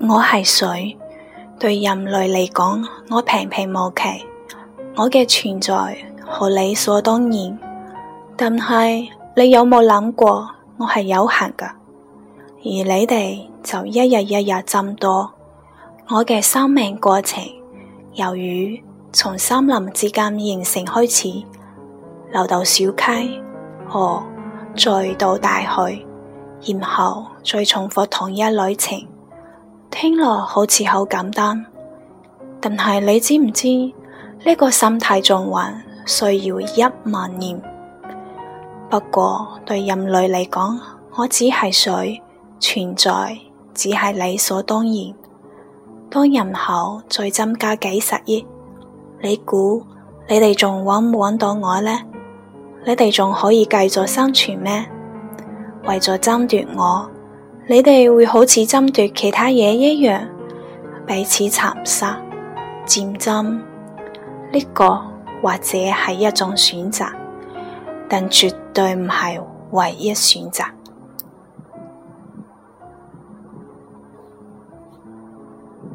我係水，對人類嚟講，我平平無奇，我嘅存在好理所當然。但係你有冇諗過，我係有限㗎，而你哋就一日一日增多。我嘅生命過程，由於從森林之間形成開始，流到小溪、河，再到大海，然後再重複同一旅程。聽落好似好簡單，但係你知唔知呢個生態循環需要10000年？不過對人類嚟講，我只係水，存在只係理所當然。當人口再增加幾十億，你估你哋仲搵唔搵到我呢？你哋仲可以繼續生存咩？為咗爭奪我，你哋會好似爭奪其他嘢一樣，彼此殘殺、戰爭。呢個或者係一種選擇，但絕對唔係唯一選擇。